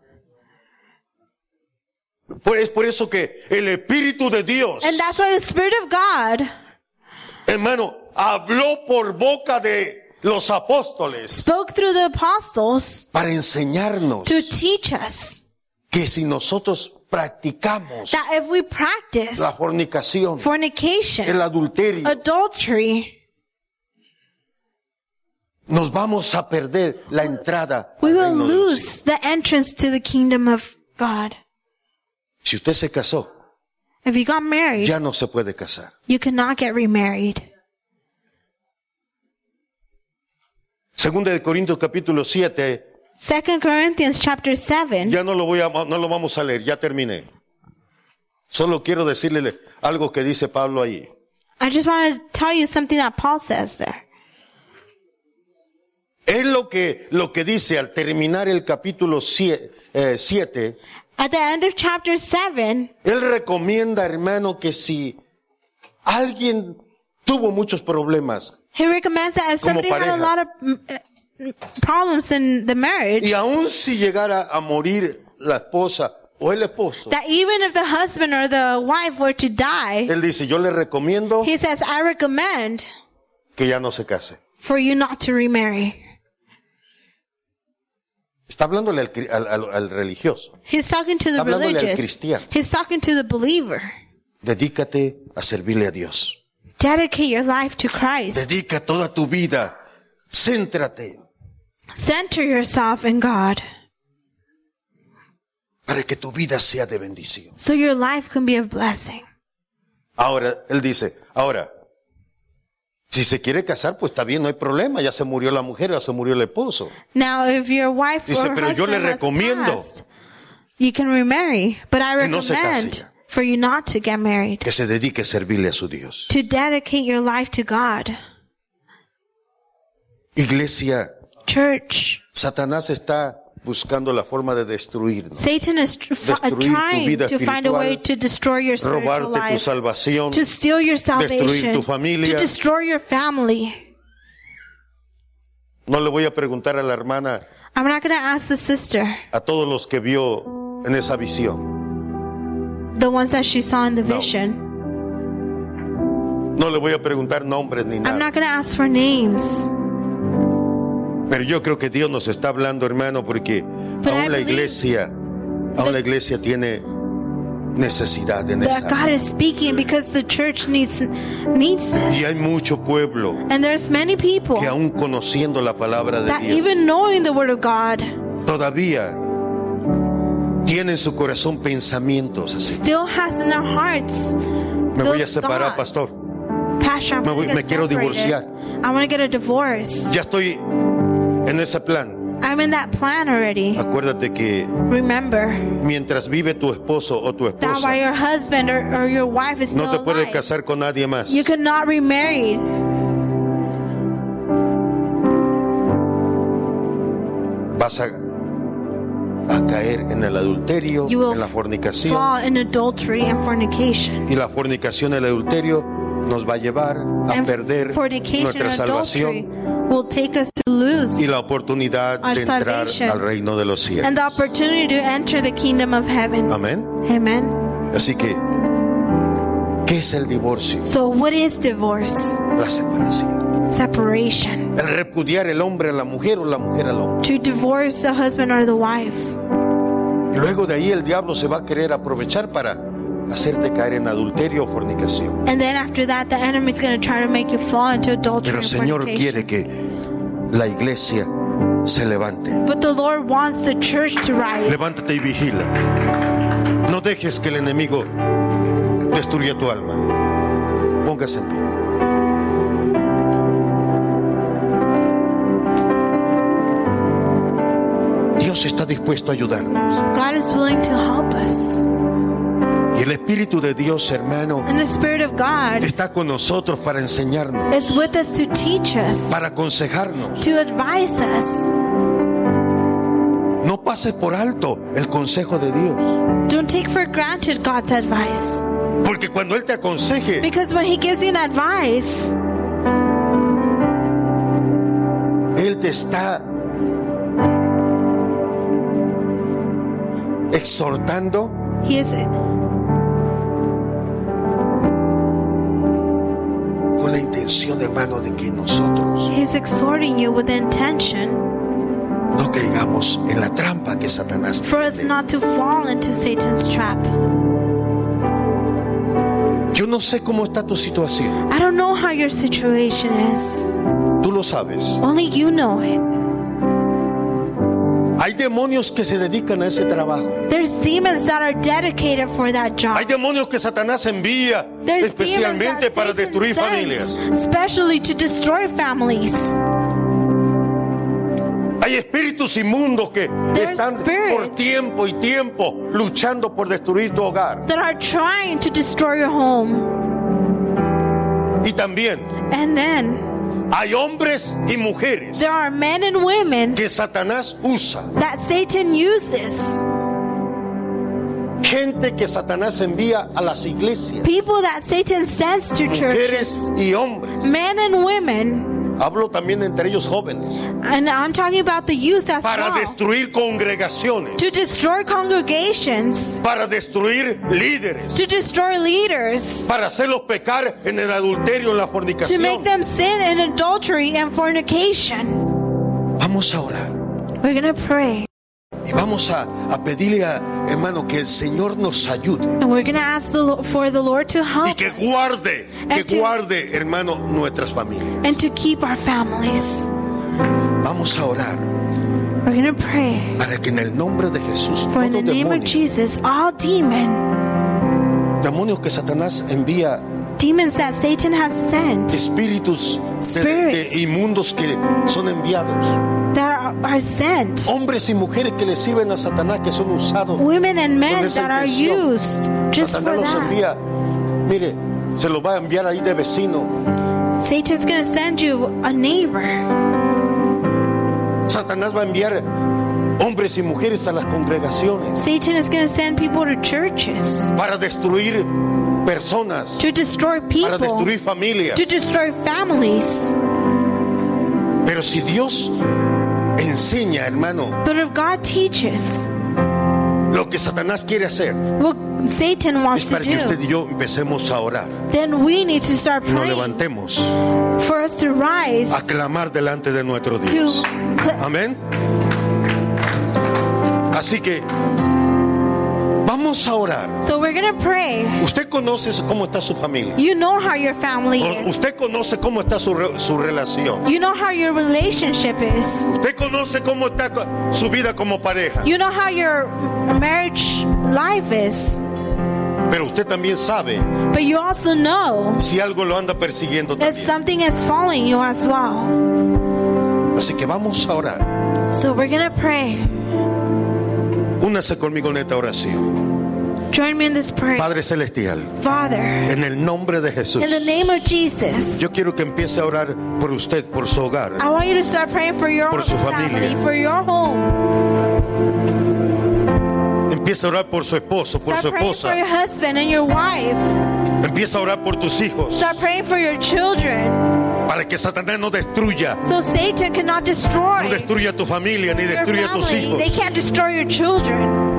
Es por eso que el Espíritu de Dios, And that's why the Spirit of God hermano, habló por boca de los apóstoles spoke through the apostles para enseñarnos to teach us que si nosotros practicamos that if we practice la fornicación, fornication, el adulterio, adultery, nos vamos a perder la entrada we al will reino de los cielos. lose the entrance to the kingdom of God. Si usted se casó, If you got married, ya no se puede casar. you cannot get remarried. Segunda de Corintios capítulo 7, 2 Corinthians chapter 7. ya no lo vamos a leer, ya terminé. Solo quiero decirle algo que dice Pablo ahí. I just want to tell you something that Paul says there. Es lo que dice al terminar el capítulo 7. At the end of chapter 7, Él recomienda, hermano, que si alguien tuvo muchos problemas he recommends that if Como somebody had a pareja. lot of problems in the marriage, y aun si llegara a morir la esposa o el esposo, that even if the husband or the wife were to die, él dice, yo le recomiendo he says, I recommend que ya no se case. for you not to remarry. Está hablándole al religioso. He's talking to the Está hablándole al religious. cristiano. He's talking to the believer. Dedícate a servirle a Dios. Dedicate your life to Christ. Dedica toda tu vida. Céntrate. Center yourself in God para que tu vida sea de bendición. so your life can be a blessing. Ahora, él dice, si se quiere casar, pues está bien, no hay problema. Ya se murió la mujer, ya se murió el esposo. Now, if your wife Dice, or pero yo le husband has recomiendo passed, you can remarry. But I que no se recommend case. for you not to get married, Que se dedique a servirle a su Dios. to dedicate your life to God. Iglesia, Church, Satanás está buscando la forma de destruirnos. Satan is Destruir tu trying vida to find a way espiritual, to destroy your spiritual Robarte tu life, salvación. to steal your salvation, tu familia. to destroy your family. No le voy a preguntar a la hermana, I'm not going to ask the sister, a todos los que vio en esa visión. the ones that she saw in the No. vision. No le voy a preguntar nombres ni I'm nada. not going to ask for names. Pero yo creo que Dios nos está hablando, hermano, porque But I aún la believe iglesia tiene necesidad en That esa. God is speaking because the church needs Y this. hay mucho pueblo And there's many people que aún conociendo la palabra de that Dios, even knowing the word of God todavía tienen en su corazón pensamientos así. still has in their hearts Me voy a those separar, thoughts. pastor. Pastor, I'm Me gonna me get quiero separated. divorciar. I want to get a divorce. Ya estoy en ese plan. I'm in that plan already. Acuérdate que Remember mientras vive tu esposo o tu that while esposa, your husband or your wife is still no te puedes alive, casar con nadie más. you cannot remarry. Vas a caer en el adulterio, You will en la fornicación. fall in adultery and fornication. Y la fornicación y el adulterio nos va a llevar a And perder fornication nuestra and adultery salvación will take us to lose y la oportunidad our de entrar salvation al reino de los cielos. and the opportunity to enter the kingdom of heaven. Amén. Amen. Así que, ¿qué es el divorcio? So what is divorce? La separación. Separation. El repudiar el hombre a la mujer o la mujer al hombre. To divorce the husband or the wife. Y luego de ahí el diablo se va a querer aprovechar para hacerte caer en adulterio o fornicación. And then after that, the enemy is going to try to make you fall into adultery Pero el and Señor fornication. quiere que la iglesia se levante. But the Lord wants the church to rise. Levántate y vigila. No dejes que el enemigo destruya tu alma. Póngase en pie. Dios está dispuesto a ayudarnos. God is willing to help us. Y el Espíritu de Dios, hermano, And the Spirit of God está con nosotros para enseñarnos, is with us to teach us, para aconsejarnos. to advise us. No pases por alto el consejo de Dios. Don't take for granted God's advice. Porque cuando Él te aconseje, Because when He gives you an advice, Él te está exhortando He is con la intención, hermano, de que nosotros He's exhorting you with the intention no caigamos en la trampa que Satanás for us tiene. not to fall into Satan's trap. Yo no sé cómo está tu situación. I don't know how your situation is. Tú lo sabes. Only you know it. Hay demonios que se dedican a ese trabajo. There's demons that are dedicated for that job. Hay demonios que Satanás envía There's especialmente demons para that destruir Satan familias. sends, especially to destroy families. Hay espíritus inmundos que There's están spirits por tiempo y tiempo luchando por destruir tu hogar. that are trying to destroy your home. Y también And then hay hombres y mujeres there are men and women que Satanás usa. that Satan uses. Gente que Satanás envía a las iglesias. People that Satan sends to churches. Mujeres y hombres. Men and women. Hablo también entre ellos jóvenes. And I'm talking about the youth as Para well. destruir congregaciones. To destroy congregations. Para destruir líderes. To destroy leaders. Para hacerlos pecar en el adulterio, en la To fornicación. make them sin in adultery and fornication. Vamos a orar. We're going to pray. Y vamos a pedirle a hermano que el Señor nos ayude. And we're going to ask for the Lord to Y help que And to- guarde, hermano, nuestras familias. and to keep our families. Vamos a orar We're going to pray para que en el nombre de Jesús for in todo the name of demonio, Jesus, all demonios que Satanás envía, demons that Satan has sent, espíritus de Spirits. inmundos que son enviados, that are sent, hombres y mujeres que le sirven a Satanás, que son usados women and con men esa that are intención. used just Satanás for los that. envía, mire, se los va a enviar ahí de vecino. Satan's going to send you a neighbor. Satanás va a enviar hombres y mujeres a las congregaciones Satan is going to send people to churches para destruir personas, to destroy para people, destruir familias. to destroy families. Pero si Dios enseña, hermano, But if God teaches lo que Satanás quiere hacer, what Satan es wants to para que usted do, y yo empecemos a orar then we need to start y nos praying levantemos for us to rise a clamar delante de nuestro to Dios. Amén. Así que vamos a orar. So we're going to pray. Usted conoce cómo está su familia. You know how your family is. Usted conoce cómo está su relación. You know how your relationship is. Usted conoce cómo está su vida como pareja. You know how your marriage life is. Pero usted también sabe But you also know si algo lo anda persiguiendo that también. something is following you as well. Así que vamos a orar. So we're going to pray. Únase conmigo en esta oración. Join me in this prayer. Padre Celestial, Father, en el nombre de Jesús, in the name of Jesus, yo quiero que empiece a orar por usted, por su hogar. I want you to start praying for your Por su family, familia. for your home. Empieza a orar por su esposo, por Start su praying for your esposa. husband and your wife. Empieza a orar por tus hijos, Start praying for your children. para que Satanás no destruya, So Satan cannot destroy no destruya tu familia, ni your destruya tus family. They hijos. can't destroy your children.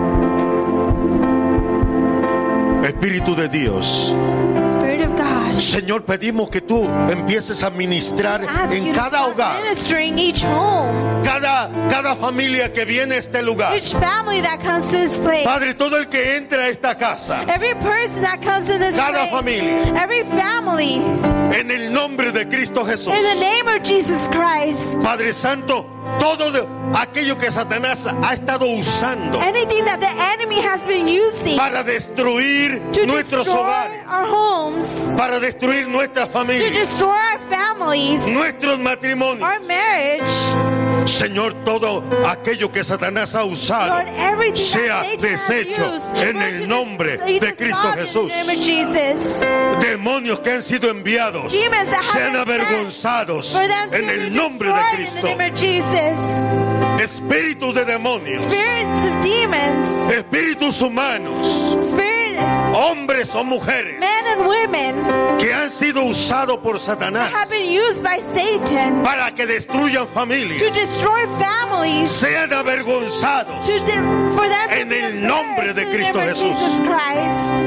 Espíritu de Dios, Spirit of God, Señor, pedimos que tú empieces a ministrar ask you en to cada start hogar, ministering each home, cada familia que viene a este lugar. each family that comes to this place. Padre, todo el que entra a esta casa, Every person that comes in this Cada place, familia. every family, en el nombre de Cristo Jesús. in the name of Jesus Christ, Padre Santo, todo aquello que Satanás ha estado usando anything that the enemy has been using para destruir to nuestros destroy hogares, our homes, para destruir nuestras to familias, destroy our families, nuestros matrimonios. our marriage, Señor, todo aquello que Satanás ha usado Lord, everything sea that Satan has deshecho used, en Lord, el to nombre be de Cristo dissolved Jesús. in the name of Jesus. Demonios que han sido enviados Demons that have sean been sent avergonzados For them to en be el nombre de destroyed in Cristo. the name of Jesus. Espíritus de demonios, Spirits of demons, espíritus humanos, spirit, hombres o mujeres men and women que han sido usados por Satanás have been used by Satan para que destruyan to familias, destroy families, sean avergonzados for them to En be el nombre de embarrassed in the Cristo name of Jesús. Jesus Christ.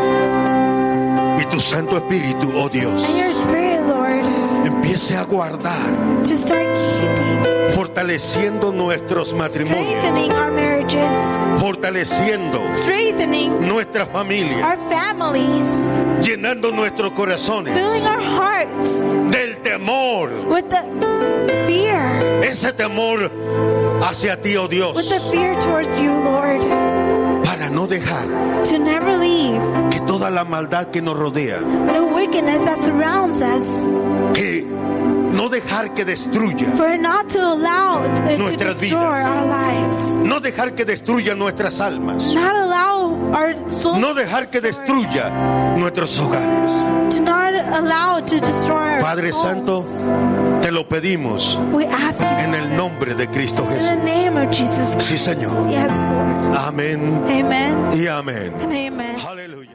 y tu Santo Espíritu, oh Dios, And your spirit, Lord, empiece a guardar, to start keeping, fortaleciendo nuestros matrimonios, strengthening our marriages, fortaleciendo strengthening nuestras familias, our families, llenando nuestros corazones filling our hearts del temor, with the fear, ese temor hacia ti, oh with Dios, the fear towards you, Lord, para no dejar to never leave que toda la maldad que nos rodea, the wickedness that surrounds us, que no dejar que destruya, for not to allow it to Nuestras destroy vidas. our lives, no dejar que destruya nuestras almas, not allow our souls, no dejar que destruya nuestros hogares. to not allow it to destroy our Padre homes. Santo, te lo pedimos We ask you, en el Father, nombre de Cristo in the Jesús. name of Jesus Christ. Sí, Señor. Yes, Lord. Amén Amen y amén. and amen. Aleluya.